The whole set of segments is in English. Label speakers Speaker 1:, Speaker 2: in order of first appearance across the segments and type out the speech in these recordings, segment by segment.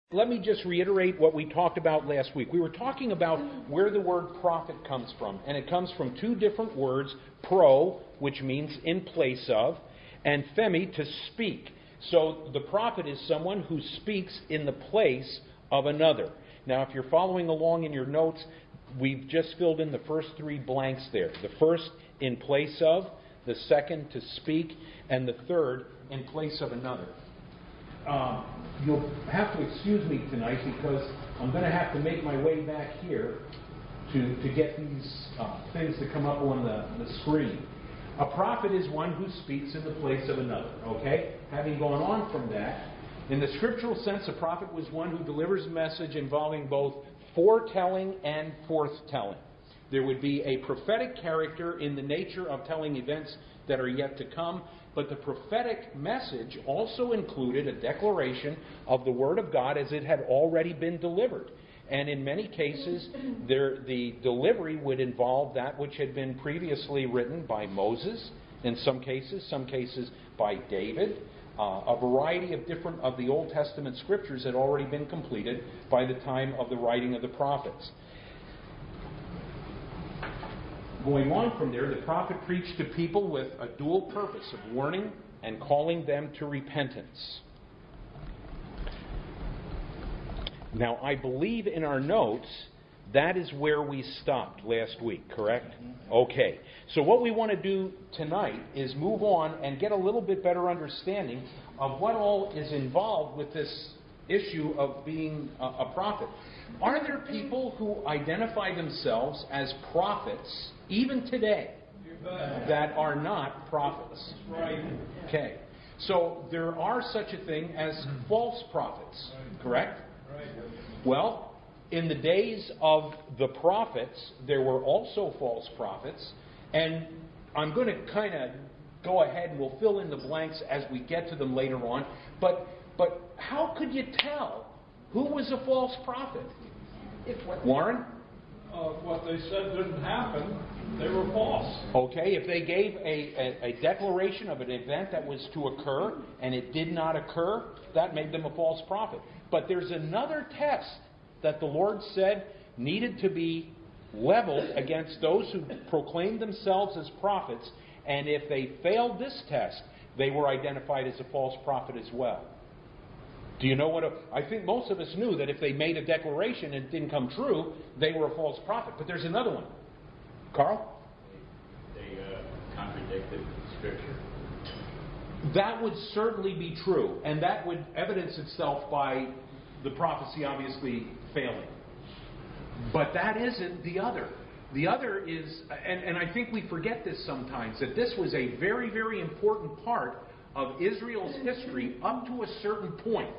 Speaker 1: Let me just reiterate what we talked about last week. We were talking about where the word prophet comes from, and it comes from two different words, pro, which means in place of, and phemi, to speak. So the prophet is someone who speaks in the place of another. Now, if you're following along in your notes, we've just filled in the first three blanks there. The first, in place of, the second, to speak, and the third, in place of another. You'll have to excuse me tonight because I'm going to have to make my way back here to get these things to come up on the screen. A prophet is one who speaks in the place of another. Okay? Having gone on from that, in the scriptural sense, a prophet was one who delivers a message involving both foretelling and forthtelling. There would be a prophetic character in the nature of telling events that are yet to come, but the prophetic message also included a declaration of the Word of God as it had already been delivered. And in many cases, the delivery would involve that which had been previously written by Moses, in some cases by David. A variety of different of the Old Testament scriptures had already been completed by the time of the writing of the prophets. Going on from there, the prophet preached to people with a dual purpose of warning and calling them to repentance. Now, I believe in our notes that is where we stopped last week, correct? Okay. So what we want to do tonight is move on and get a little bit better understanding of what all is involved with this issue of being a prophet. Are there people who identify themselves as prophets, even today, that are not prophets?
Speaker 2: Right.
Speaker 1: Okay. So there are such a thing as false prophets, correct?
Speaker 2: Right.
Speaker 1: Well, in the days of the prophets, there were also false prophets, and I'm going to kind of go ahead and we'll fill in the blanks as we get to them later on. But how could you tell who was a false prophet? Warren?
Speaker 2: What they said didn't happen, they were false.
Speaker 1: Okay, if they gave a declaration of an event that was to occur and it did not occur, that made them a false prophet. But there's another test that the Lord said needed to be leveled against those who proclaimed themselves as prophets, and if they failed this test, they were identified as a false prophet as well. Do you know what? I think most of us knew that if they made a declaration and it didn't come true, they were a false prophet. But there's another one. Carl?
Speaker 3: They contradicted Scripture.
Speaker 1: That would certainly be true, and that would evidence itself by the prophecy obviously failing. But that isn't the other. The other is, and I think we forget this sometimes, that this was a very, very important part of Israel's history up to a certain point.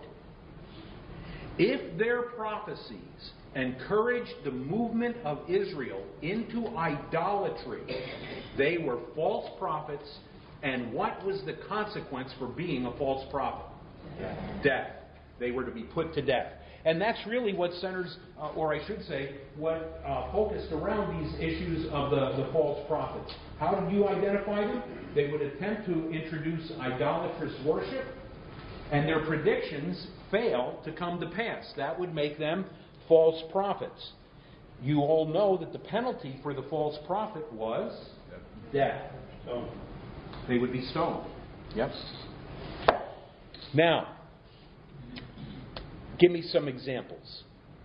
Speaker 1: If their prophecies encouraged the movement of Israel into idolatry, they were false prophets, and what was the consequence for being a false prophet? Death. They were to be put to death. And that's really what centers, or I should say, what focused around these issues of the false prophets. How did you identify them? They would attempt to introduce idolatrous worship, and their predictions fail to come to pass. That would make them false prophets. You all know that the penalty for the false prophet was death. So they would be stoned. Yep. Now, give me some examples.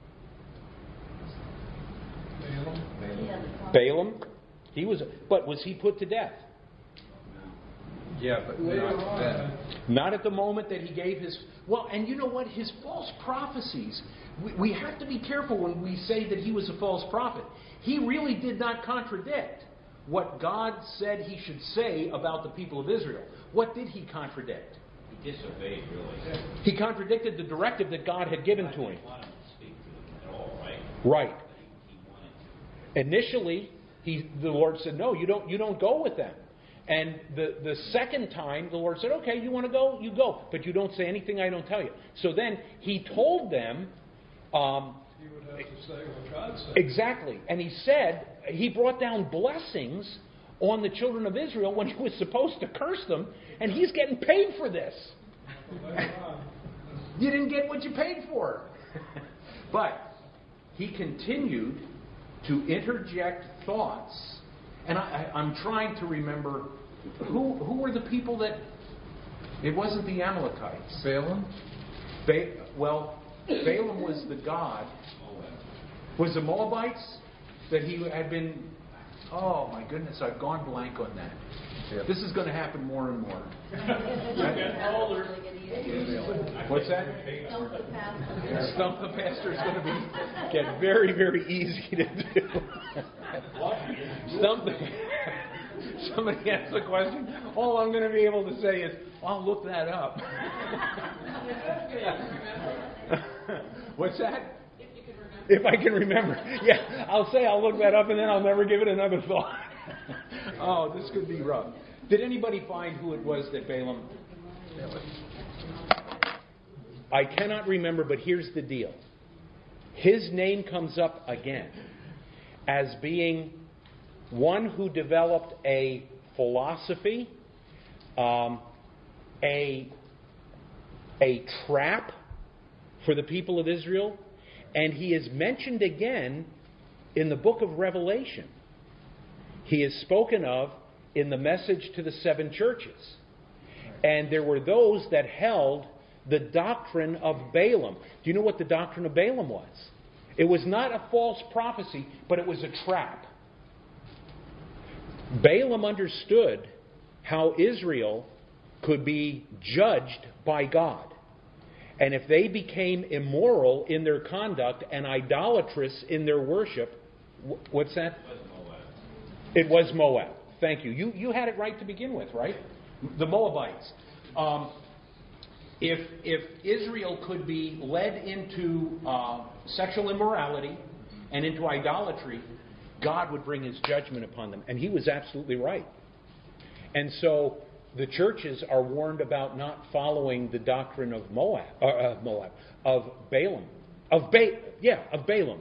Speaker 1: Balaam? But was he put to death?
Speaker 4: Yeah, but not then.
Speaker 1: Not at the moment that he gave his... Well, and you know what? His false prophecies, we have to be careful when we say that he was a false prophet. He really did not contradict what God said he should say about the people of Israel. What did he contradict?
Speaker 3: He disobeyed, really.
Speaker 1: He contradicted the directive that God had given to him.
Speaker 3: He didn't want him to speak to them at all, right?
Speaker 1: Right.
Speaker 3: He wanted to.
Speaker 1: Initially, the Lord said, no, you don't go with them. And the second time, the Lord said, okay, you want to go? You go. But you don't say anything I don't tell you. So then he told them...
Speaker 2: He would have to say what God said.
Speaker 1: Exactly. And he said, he brought down blessings on the children of Israel when he was supposed to curse them, and he's getting paid for this. You didn't get what you paid for. But he continued to interject thoughts, and I'm trying to remember who were the people that. It wasn't the Amalekites.
Speaker 4: Balaam?
Speaker 1: Balaam was the god. Was the Moabites that he had been? Oh my goodness, I've gone blank on that.
Speaker 4: Yep.
Speaker 1: This is going to happen more and more.
Speaker 2: Getting older.
Speaker 1: What's that? Stump the pastor is going to get very, very easy to do. Stump the. Somebody asks a question. All I'm going to be able to say is, "I'll look that up." What's that? If I can remember. Yeah, I'll say I'll look that up, and then I'll never give it another thought. Oh, this could be rough. Did anybody find who it was that Balaam? I cannot remember, but here's the deal. His name comes up again as being one who developed a philosophy, a trap for the people of Israel, and he is mentioned again in the book of Revelation. He is spoken of in the message to the 7 churches. And there were those that held the doctrine of Balaam. Do you know what the doctrine of Balaam was? It was not a false prophecy, but it was a trap. Balaam understood how Israel could be judged by God. And if they became immoral in their conduct and idolatrous in their worship, what's that? It was Moab. Thank you. You had it right to begin with, right? The Moabites. If Israel could be led into sexual immorality and into idolatry, God would bring His judgment upon them. And He was absolutely right. And so the churches are warned about not following the doctrine of of Balaam. Of Balaam.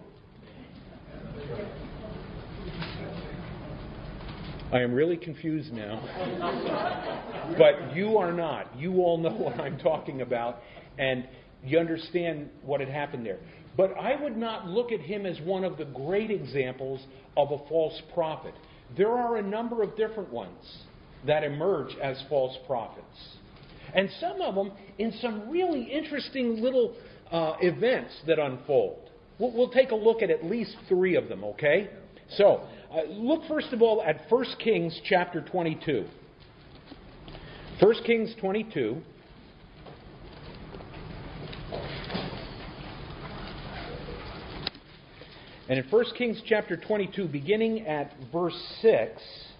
Speaker 1: I am really confused now. But you are not. You all know what I'm talking about, and you understand what had happened there. But I would not look at him as one of the great examples of a false prophet. There are a number of different ones that emerge as false prophets. And some of them in some really interesting little events that unfold. We'll take a look at least 3 of them, okay? So, look first of all at 1 Kings chapter 22. 1 Kings 22. And in 1 Kings chapter 22, beginning at verse 6,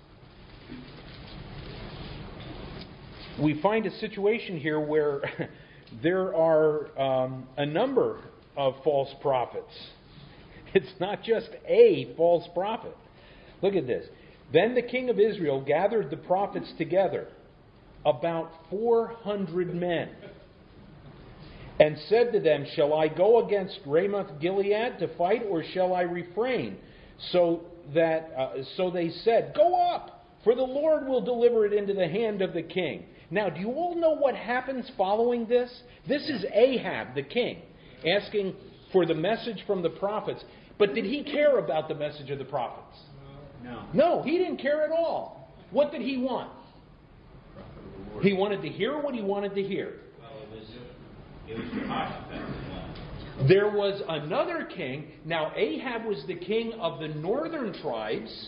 Speaker 1: we find a situation here where there are a number of false prophets. It's not just a false prophet. Look at this. Then the king of Israel gathered the prophets together, about 400 men, and said to them, "Shall I go against Ramoth Gilead to fight, or shall I refrain?" So they said, "Go up, for the Lord will deliver it into the hand of the king." Now, do you all know what happens following this? This is Ahab, the king, asking for the message from the prophets. But did he care about the message of the prophets? No, he didn't care at all. What did he want? He wanted to hear what he wanted to hear.
Speaker 3: Well, it was Jehoshaphat.
Speaker 1: There was another king. Now, Ahab was the king of the northern tribes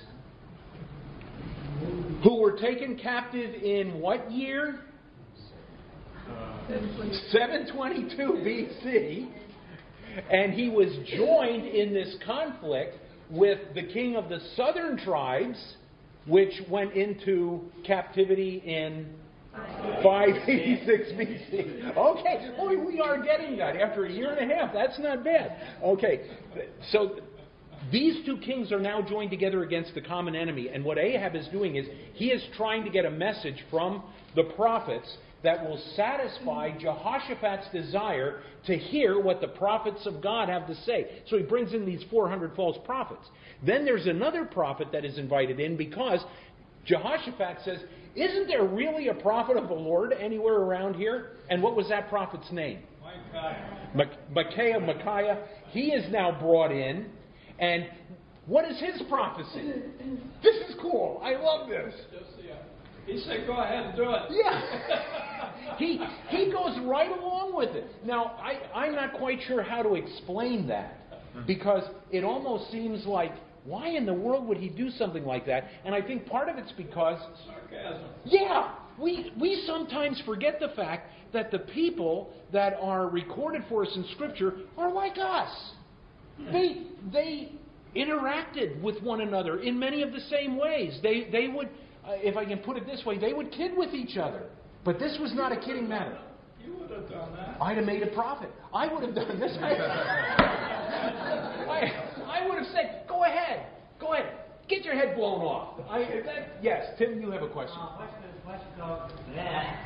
Speaker 1: who were taken captive in what year? 722 BC. And he was joined in this conflict with the king of the southern tribes, which went into captivity in 586 BC. Okay, boy, we are getting that after a year and a half. That's not bad. Okay, so these 2 kings are now joined together against the common enemy. And what Ahab is doing is he is trying to get a message from the prophets that will satisfy Jehoshaphat's desire to hear what the prophets of God have to say. So he brings in these 400 false prophets. Then there's another prophet that is invited in because Jehoshaphat says, "Isn't there really a prophet of the Lord anywhere around here?" And what was that prophet's name? Micaiah, he is now brought in, and what is his prophecy? This is cool. I love this.
Speaker 2: He said, go ahead and do it.
Speaker 1: Yeah. He goes right along with it. Now, I'm not quite sure how to explain that, because it almost seems like, why in the world would he do something like that? And I think part of it's because...
Speaker 2: Sarcasm.
Speaker 1: Yeah. We sometimes forget the fact that the people that are recorded for us in Scripture are like us. They interacted with one another in many of the same ways. They would, if I can put it this way, they would kid with each other. But this was not a kidding matter.
Speaker 2: You would have done that.
Speaker 1: I'd have made a profit. I would have done this. I would have said, go ahead. Get your head blown off. Yes, Tim, you have a question.
Speaker 5: What's called that?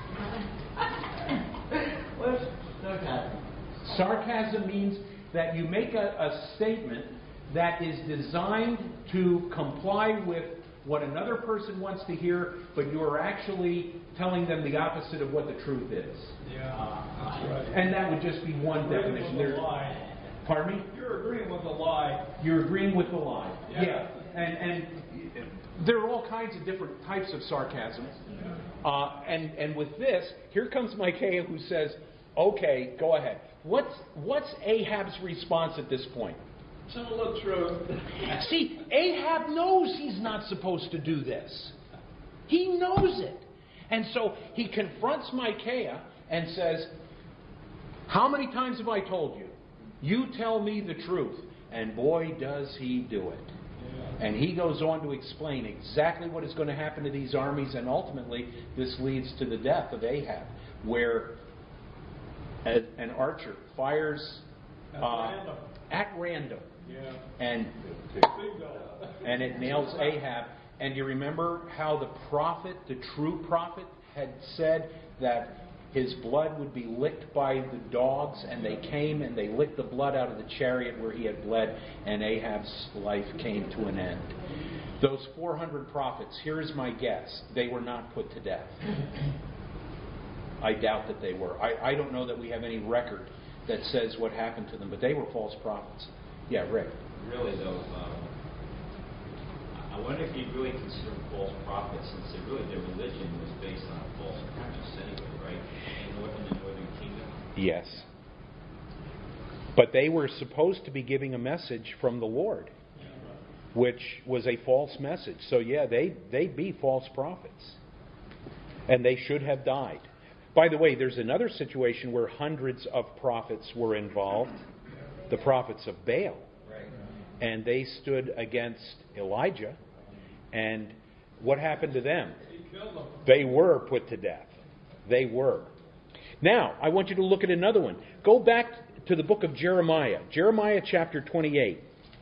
Speaker 5: What's sarcasm?
Speaker 1: Sarcasm means that you make a statement that is designed to comply with what another person wants to hear, but you are actually telling them the opposite of what the truth is.
Speaker 2: Yeah, that's right.
Speaker 1: And that would just be one definition.
Speaker 2: With the lie.
Speaker 1: Pardon me?
Speaker 2: You're agreeing with the lie.
Speaker 1: You're agreeing with the lie.
Speaker 2: Yeah.
Speaker 1: And there are all kinds of different types of sarcasm. And with this, here comes Micaiah who says, okay, go ahead. What's Ahab's response at this point?
Speaker 2: Tell the truth.
Speaker 1: See, Ahab knows he's not supposed to do this. He knows it. And so he confronts Micaiah and says, how many times have I told you? You tell me the truth. And boy, does he do it. And he goes on to explain exactly what is going to happen to these armies, and ultimately this leads to the death of Ahab, where an archer fires at random.
Speaker 2: Yeah.
Speaker 1: And it nails Ahab. And you remember how the prophet, the true prophet, had said that his blood would be licked by the dogs, and they came and they licked the blood out of the chariot where he had bled, and Ahab's life came to an end. Those 400 prophets, here's my guess, they were not put to death. I doubt that they were. I don't know that we have any record that says what happened to them, but they were false prophets. Yeah, Rick.
Speaker 3: Really, though, I wonder if you'd really consider them false prophets, since their religion was based on a false premise anyway, right? In the northern kingdom.
Speaker 1: Yes. But they were supposed to be giving a message from the Lord, which was a false message. So yeah, they'd be false prophets. And they should have died. By the way, there's another situation where hundreds of prophets were involved. The prophets of Baal. And they stood against Elijah. And what happened to them? They were put to death. They were. Now, I want you to look at another one. Go back to the book of Jeremiah. Jeremiah chapter 28.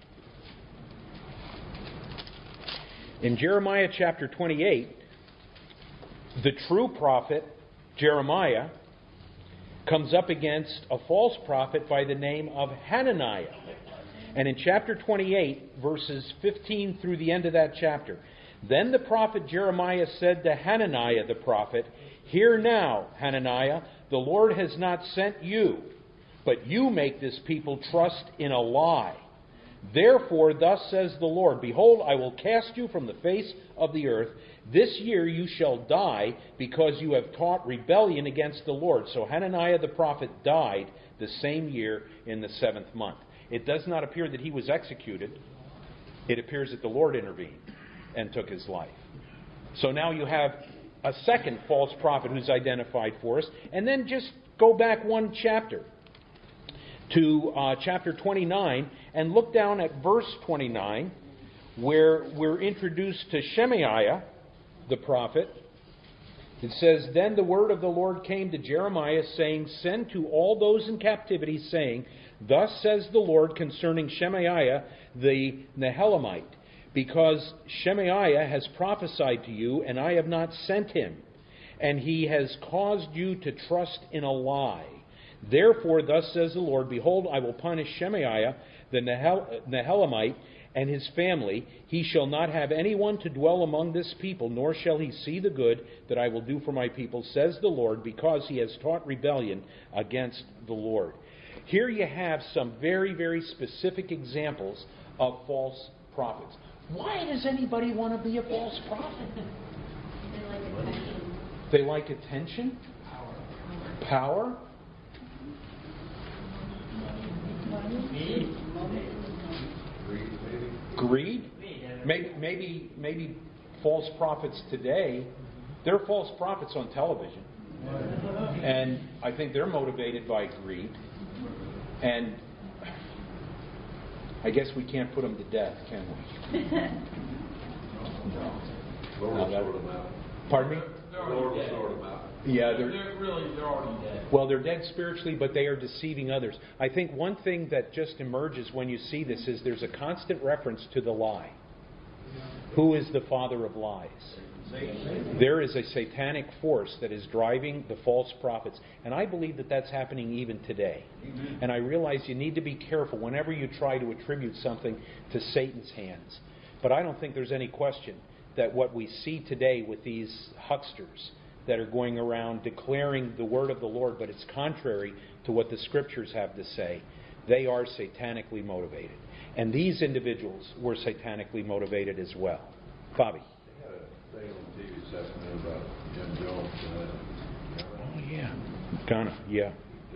Speaker 1: In Jeremiah chapter 28, the true prophet, Jeremiah, comes up against a false prophet by the name of Hananiah. And in chapter 28, verses 15 through the end of that chapter, then the prophet Jeremiah said to Hananiah the prophet, hear now, Hananiah, the Lord has not sent you, but you make this people trust in a lie. Therefore, thus says the Lord, behold, I will cast you from the face of the earth. This year you shall die, because you have taught rebellion against the Lord. So Hananiah the prophet died the same year in the 7th month. It does not appear that he was executed. It appears that the Lord intervened and took his life. So now you have a second false prophet who's identified for us. And then just go back one chapter to chapter 29 and look down at verse 29, where we're introduced to Shemaiah the prophet. It says, then the word of the Lord came to Jeremiah, saying, send to all those in captivity, saying, thus says the Lord concerning Shemaiah the Nehelamite, because Shemaiah has prophesied to you, and I have not sent him, and he has caused you to trust in a lie. Therefore, thus says the Lord, behold, I will punish Shemaiah the Nehelamite and his family. He shall not have anyone to dwell among this people, nor shall he see the good that I will do for my people, says the Lord, because he has taught rebellion against the Lord. Here you have some very, very specific examples of false prophets. Why does anybody want to be a false prophet? They like attention? Power? Greed? Maybe false prophets today, they're false prophets on television. And I think they're motivated by greed. And I guess we can't put them to death, can we? No. Pardon me? Yeah, they're already dead. Well, they're dead spiritually, but they are deceiving others. I think one thing that just emerges when you see this is there's a constant reference to the lie. Who is the father of lies? There is a satanic force that is driving the false prophets. And I believe that that's happening even today. And I realize you need to be careful whenever you try to attribute something to Satan's hands. But I don't think there's any question that what we see today with these hucksters that are going around declaring the word of the Lord, but it's contrary to what the Scriptures have to say, they are satanically motivated. And these individuals were satanically motivated as well. Bobby.
Speaker 6: They had a thing on TV this afternoon about Jim Jones.
Speaker 1: Oh, yeah. Ghana, yeah.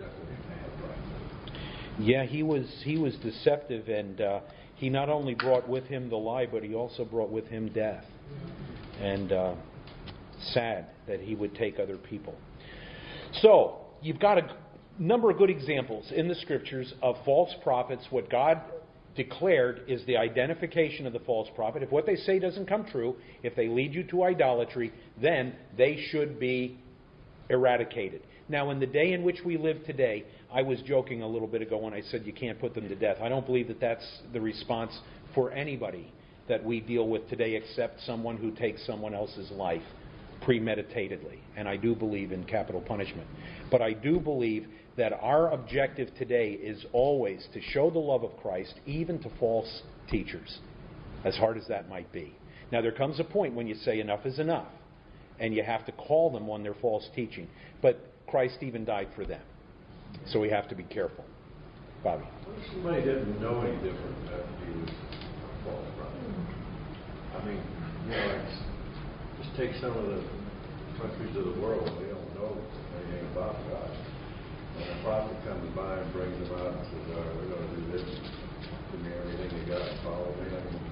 Speaker 1: Yeah, he was deceptive, and he not only brought with him the lie, but he also brought with him death. And sad that he would take other people. So, you've got a number of good examples in the Scriptures of false prophets. What God declared is the identification of the false prophet. If what they say doesn't come true, if they lead you to idolatry, then they should be eradicated. Now, in the day in which we live today, I was joking a little bit ago when I said you can't put them to death. I don't believe that that's the response for anybody that we deal with today except someone who takes someone else's life premeditatedly. And I do believe in capital punishment. But I do believe that our objective today is always to show the love of Christ even to false teachers, as hard as that might be. Now, there comes a point when you say enough is enough, and you have to call them on their false teaching. But Christ even died for them. So we have to be careful. Bobby.
Speaker 6: Somebody didn't know any different after he was a false prophet. I mean, just take some of the countries of the world, they don't know anything about God. And a prophet comes by and brings them out and says, all right, we're going to do this. Give me everything you got, follow me.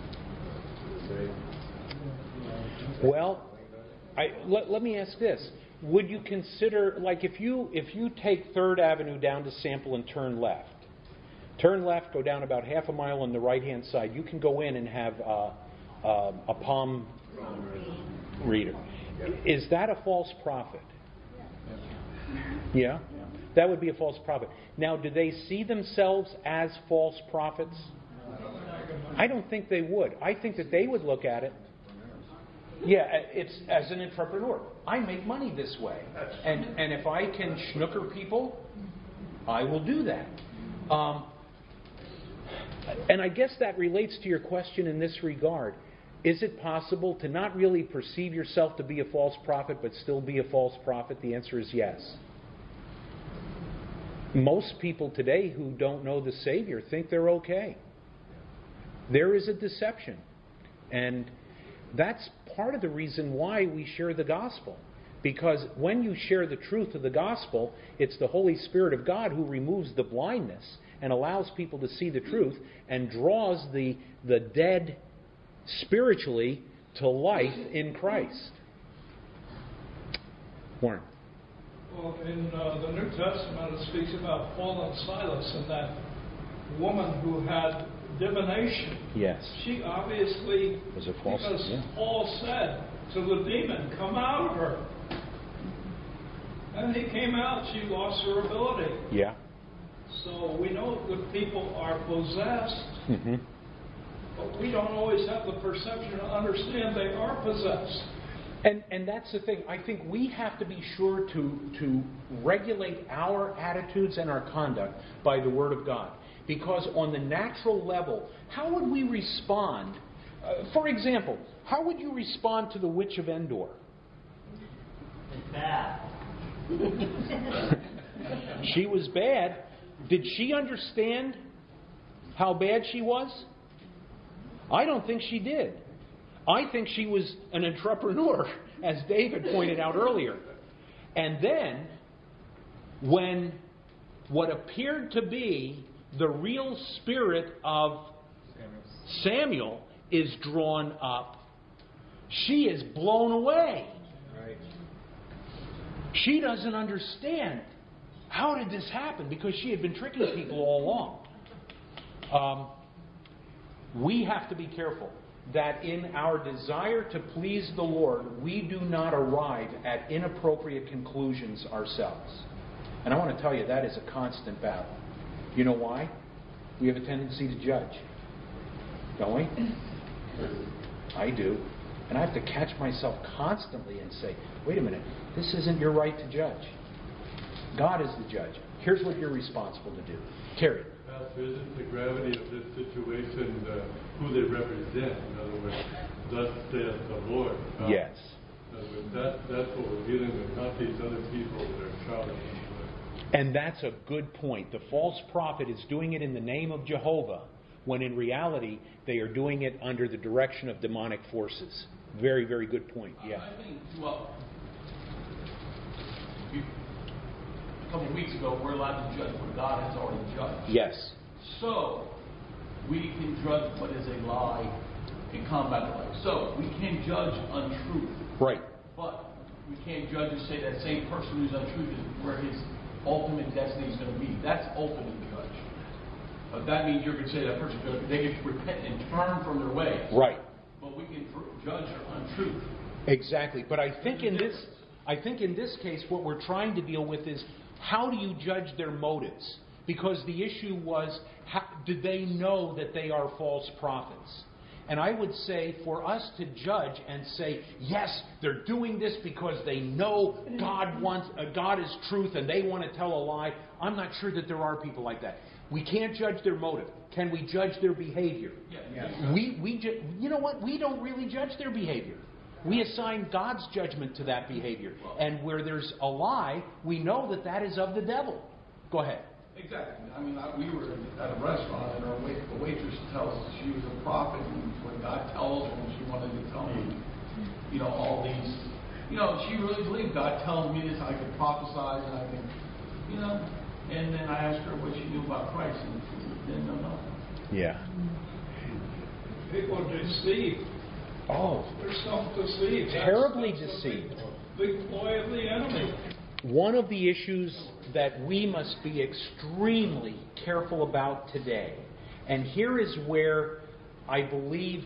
Speaker 1: Well, let me ask this. Would you consider, like if you take 3rd Avenue down to Sample and turn left, go down about half a mile on the right-hand side, you can go in and have a palm reader. Is that a false prophet? Yeah? That would be a false prophet. Now, do they see themselves as false prophets? I don't think they would. I think that they would look at it. Yeah, it's as an entrepreneur. I make money this way. And if I can schnooker people, I will do that. And I guess that relates to your question in this regard. Is it possible to not really perceive yourself to be a false prophet but still be a false prophet? The answer is yes. Most people today who don't know the Savior think they're okay. There is a deception. And that's part of the reason why we share the gospel. Because when you share the truth of the gospel, it's the Holy Spirit of God who removes the blindness and allows people to see the truth and draws the dead spiritually to life in Christ. Warren.
Speaker 2: Well, in the New Testament, it speaks about Paul and Silas and that woman who had divination.
Speaker 1: Yes.
Speaker 2: She obviously,
Speaker 1: was a false,
Speaker 2: because
Speaker 1: yeah.
Speaker 2: Paul said to the demon, come out of her. And he came out, she lost her ability.
Speaker 1: Yeah.
Speaker 2: So we know that people are possessed,
Speaker 1: Mm-hmm.
Speaker 2: but we don't always have the perception to understand they are possessed.
Speaker 1: And that's the thing. I think we have to be sure to regulate our attitudes and our conduct by the Word of God. Because on the natural level, how would we respond? For example, how would you respond to the Witch of Endor?
Speaker 5: It's bad.
Speaker 1: She was bad. Did she understand how bad she was? I don't think she did. I think she was an entrepreneur, as David pointed out earlier. And then, when what appeared to be the real spirit of Samuel is drawn up, she is blown away.
Speaker 4: Right.
Speaker 1: She doesn't understand. How did this happen? Because she had been tricking people all along. We have to be careful that in our desire to please the Lord, we do not arrive at inappropriate conclusions ourselves. And I want to tell you, that is a constant battle. You know why? We have a tendency to judge. Don't we? I do. And I have to catch myself constantly and say, wait a minute, this isn't your right to judge. God is the judge. Here's what you're responsible to do. Terry.
Speaker 7: Pastor, isn't the gravity of this situation who they represent? In other words, thus saith the Lord.
Speaker 1: Yes.
Speaker 7: That's what we're dealing with, not these other people that are shouting.
Speaker 1: And that's a good point. The false prophet is doing it in the name of Jehovah, when in reality they are doing it under the direction of demonic forces. Very, very good point. Yeah.
Speaker 8: I think, well, a couple of weeks ago, we're allowed to judge what God has already judged.
Speaker 1: Yes.
Speaker 8: So, we can judge what is a lie and combat the lie. So, we can judge untruth.
Speaker 1: Right.
Speaker 8: But we can't judge and say that same person who's untruth is where his ultimate destiny is going to be. That's ultimate judge. That means you're going to say that person, they can repent and turn from their ways.
Speaker 1: Right.
Speaker 8: But we can judge their untruth.
Speaker 1: Exactly. But I think in this case, what we're trying to deal with is, how do you judge their motives? Because the issue was, did they know that they are false prophets? And I would say for us to judge and say, yes, they're doing this because they know God is truth and they want to tell a lie. I'm not sure that there are people like that. We can't judge their motive. Can we judge their behavior?
Speaker 8: Yeah.
Speaker 1: You know what? We don't really judge their behavior. We assign God's judgment to that behavior. And where there's a lie, we know that that is of the devil. Go ahead.
Speaker 8: Exactly. I mean, we were at a restaurant, and the waitress tells us she was a prophet, and when God tells her, and she wanted to tell me, all these, she really believed God tells me this, I can prophesy, and I can, and then I asked her what she knew about Christ, and she didn't know nothing.
Speaker 1: Yeah.
Speaker 2: People are deceived.
Speaker 1: Oh.
Speaker 2: They're self-deceived.
Speaker 1: Terribly
Speaker 2: That's
Speaker 1: deceived.
Speaker 2: Big ploy of the enemy.
Speaker 1: One of the issues that we must be extremely careful about today, and here is where I believe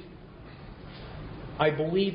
Speaker 1: I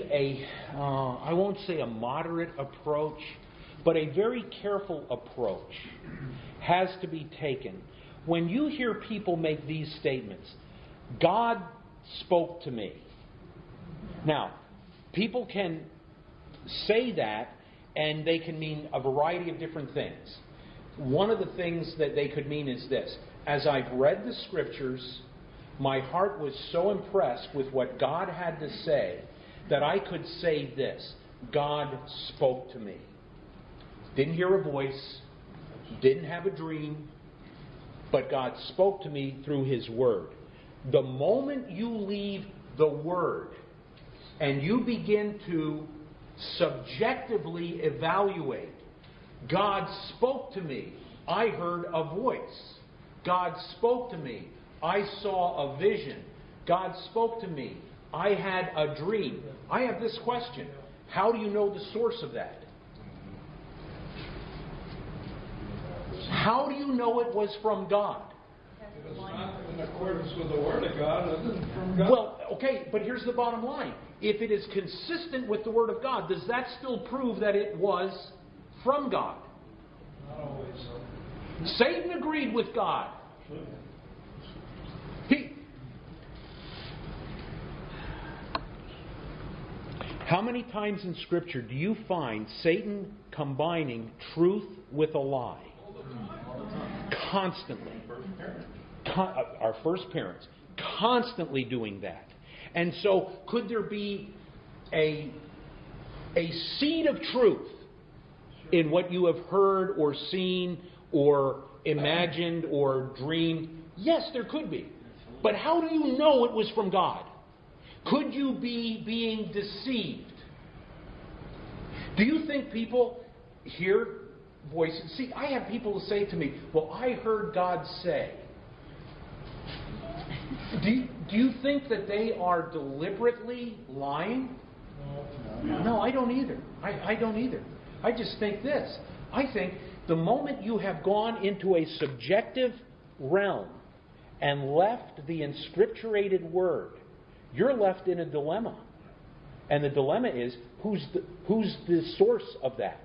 Speaker 1: won't say a moderate approach, but a very careful approach has to be taken. When you hear people make these statements, God spoke to me. Now, people can say that, and they can mean a variety of different things. One of the things that they could mean is this: as I've read the Scriptures, my heart was so impressed with what God had to say that I could say this: God spoke to me. Didn't hear a voice, didn't have a dream, but God spoke to me through His Word. The moment you leave the Word and you begin to subjectively evaluate, God spoke to me, I heard a voice. God spoke to me, I saw a vision. God spoke to me, I had a dream. I have this question: how do you know the source of that? How do you know it was from God?
Speaker 2: If it's not in accordance with the Word of God, it isn't from God.
Speaker 1: Well, okay, but here's the bottom line. If it is consistent with the Word of God, does that still prove that it was from God?
Speaker 2: Not always so.
Speaker 1: Satan agreed with God. How many times in Scripture do you find Satan combining truth with a lie? Constantly. Our first parents. Constantly doing that. And so, could there be a seed of truth in what you have heard or seen or imagined or dreamed? Yes, there could be. But how do you know it was from God? Could you be being deceived? Do you think people hear voices? See, I have people say to me, well, I heard God say. Do you think that they are deliberately lying? No, I don't either. I don't either. I just think this. I think the moment you have gone into a subjective realm and left the inscripturated word, you're left in a dilemma. And the dilemma is, who's the source of that?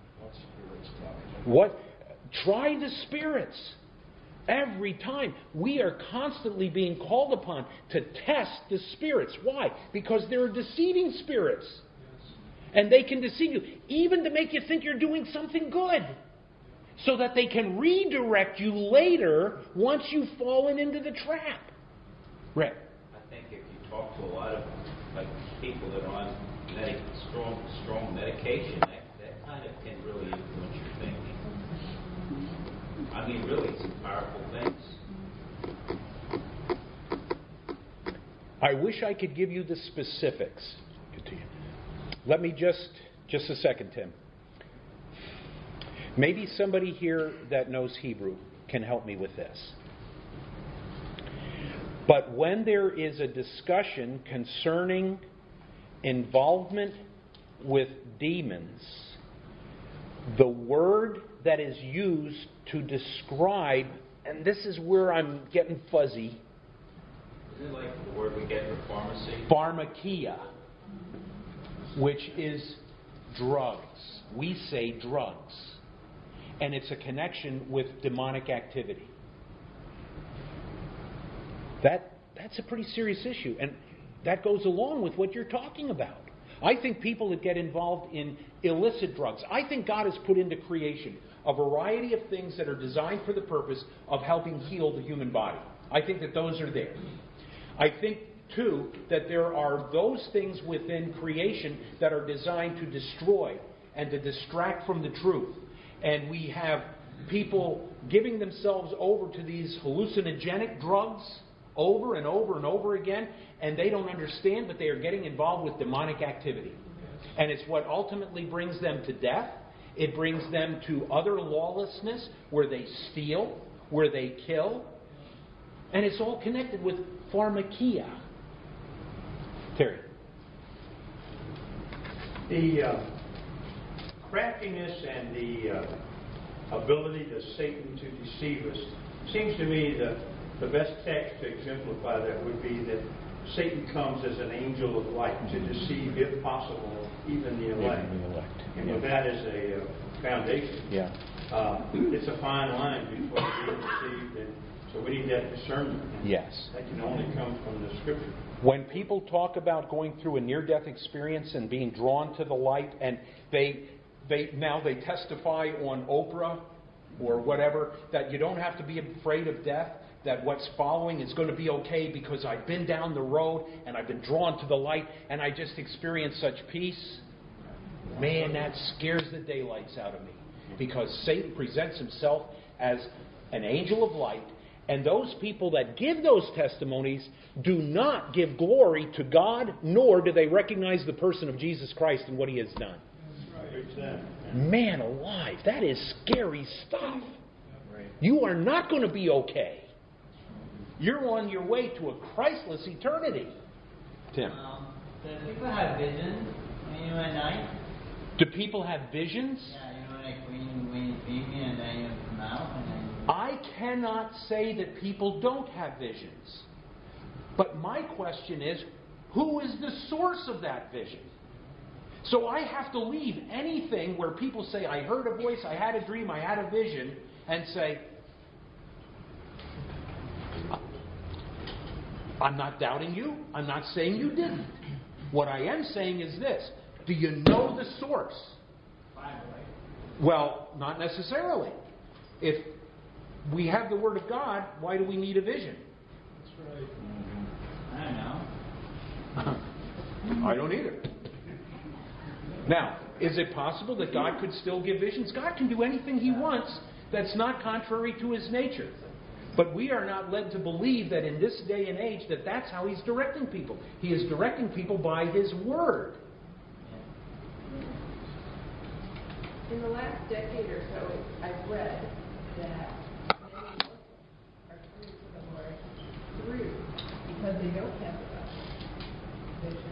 Speaker 1: What? Try the spirits. Every time. We are constantly being called upon to test the spirits. Why? Because there are deceiving spirits. And they can deceive you, even to make you think you're doing something good. So that they can redirect you later once you've fallen into the trap. Rick?
Speaker 3: I think if you talk to a lot of people that are on strong medication, that kind of can really influence your thinking. I mean, really, some powerful things.
Speaker 1: I wish I could give you the specifics. Let me just a second, Tim. Maybe somebody here that knows Hebrew can help me with this. But when there is a discussion concerning involvement with demons, the word that is used to describe, and this is where I'm getting fuzzy.
Speaker 3: Isn't it like the word we get for pharmacy?
Speaker 1: Pharmakia, which is drugs. We say drugs. And it's a connection with demonic activity. That's a pretty serious issue. And that goes along with what you're talking about. I think people that get involved in illicit drugs, I think God has put into creation a variety of things that are designed for the purpose of helping heal the human body. I think that those are there. I think, too, that there are those things within creation that are designed to destroy and to distract from the truth. And we have people giving themselves over to these hallucinogenic drugs over and over and over again, and they don't understand, but they are getting involved with demonic activity. And it's what ultimately brings them to death. It brings them to other lawlessness, where they steal, where they kill. And it's all connected with pharmakia. Terry.
Speaker 9: The craftiness and the ability of Satan to deceive us, seems to me that the best text to exemplify that would be that Satan comes as an angel of light to deceive, if possible, even the elect. And with that as a foundation, it's a fine line between being deceived and so we need that discernment.
Speaker 1: Yes.
Speaker 9: That can only come from the Scripture.
Speaker 1: When people talk about going through a near-death experience and being drawn to the light, and they testify on Oprah or whatever, that you don't have to be afraid of death, that what's following is going to be okay because I've been down the road and I've been drawn to the light and I just experienced such peace. Man, that scares the daylights out of me, because Satan presents himself as an angel of light, and those people that give those testimonies do not give glory to God, nor do they recognize the person of Jesus Christ and what He has done. Man alive, that is scary stuff. You are not going to be okay. You're on your way to a Christless eternity. Tim.
Speaker 5: Do people have visions at night?
Speaker 1: Do people have visions?
Speaker 5: Yeah, like when you feed me and then you come out and then...
Speaker 1: I cannot say that people don't have visions. But my question is, who is the source of that vision? So I have to leave anything where people say, I heard a voice, I had a dream, I had a vision, and say, I'm not doubting you. I'm not saying you didn't. What I am saying is this. Do you know the source? Well, not necessarily. If we have the Word of God, why do we need a vision?
Speaker 2: That's right.
Speaker 5: I don't know.
Speaker 1: I don't either. Now, is it possible that God could still give visions? God can do anything He wants that's not contrary to His nature. But we are not led to believe that in this day and age that that's how He's directing people. He is directing people by His Word.
Speaker 10: In the last decade or so, I've read that many Muslims are turning to the Lord through because they don't have the vision.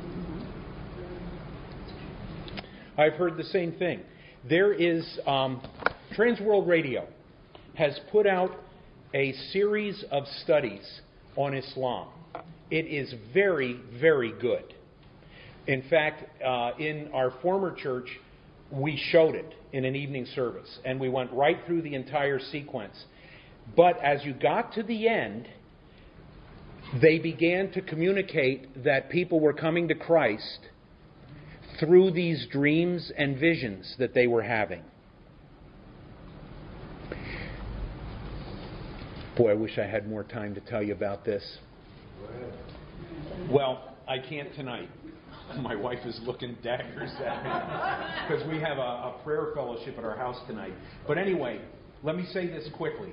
Speaker 1: I've heard the same thing. There is Transworld Radio has put out a series of studies on Islam. It is very, very good. In fact, in our former church, we showed it in an evening service, and we went right through the entire sequence. But as you got to the end, they began to communicate that people were coming to Christ through these dreams and visions that they were having. Boy, I wish I had more time to tell you about this. Well, I can't tonight. My wife is looking daggers at me because we have a prayer fellowship at our house tonight. But anyway, let me say this quickly.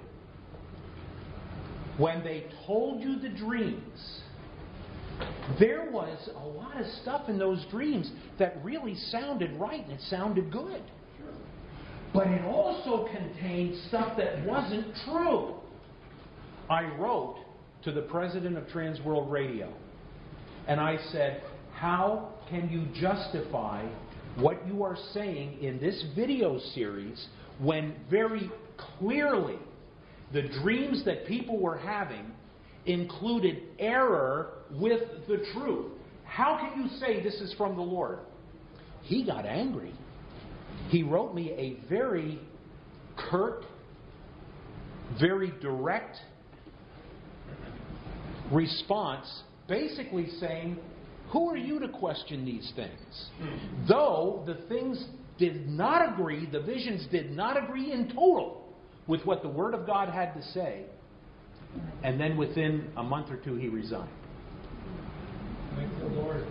Speaker 1: When they told you the dreams, there was a lot of stuff in those dreams that really sounded right and it sounded good. But it also contained stuff that wasn't true. I wrote to the president of Transworld Radio and I said, how can you justify what you are saying in this video series when very clearly the dreams that people were having included error with the truth? How can you say this is from the Lord? He got angry. He wrote me a very curt, very direct response, basically saying, who are you to question these things? Though the things did not agree, the visions did not agree in total with what the Word of God had to say. And then within a month or two, he resigned.
Speaker 2: Thank the Lord.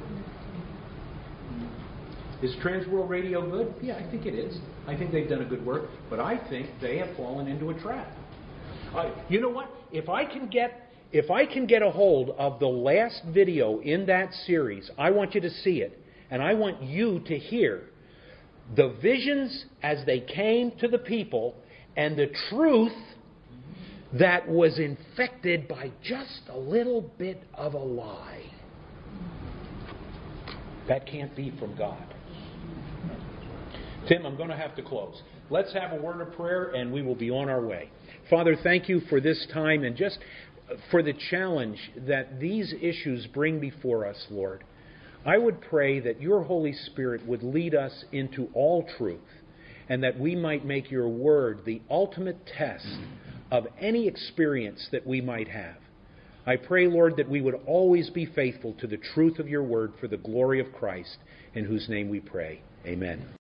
Speaker 1: Is Transworld Radio good? Yeah, I think it is. I think they've done a good work. But I think they have fallen into a trap. You know what? If I can get a hold of the last video in that series, I want you to see it. And I want you to hear the visions as they came to the people and the truth that was infected by just a little bit of a lie. That can't be from God. Tim, I'm going to have to close. Let's have a word of prayer and we will be on our way. Father, thank you for this time and just for the challenge that these issues bring before us, Lord. I would pray that your Holy Spirit would lead us into all truth and that we might make your word the ultimate test of any experience that we might have. I pray, Lord, that we would always be faithful to the truth of your word for the glory of Christ, in whose name we pray. Amen.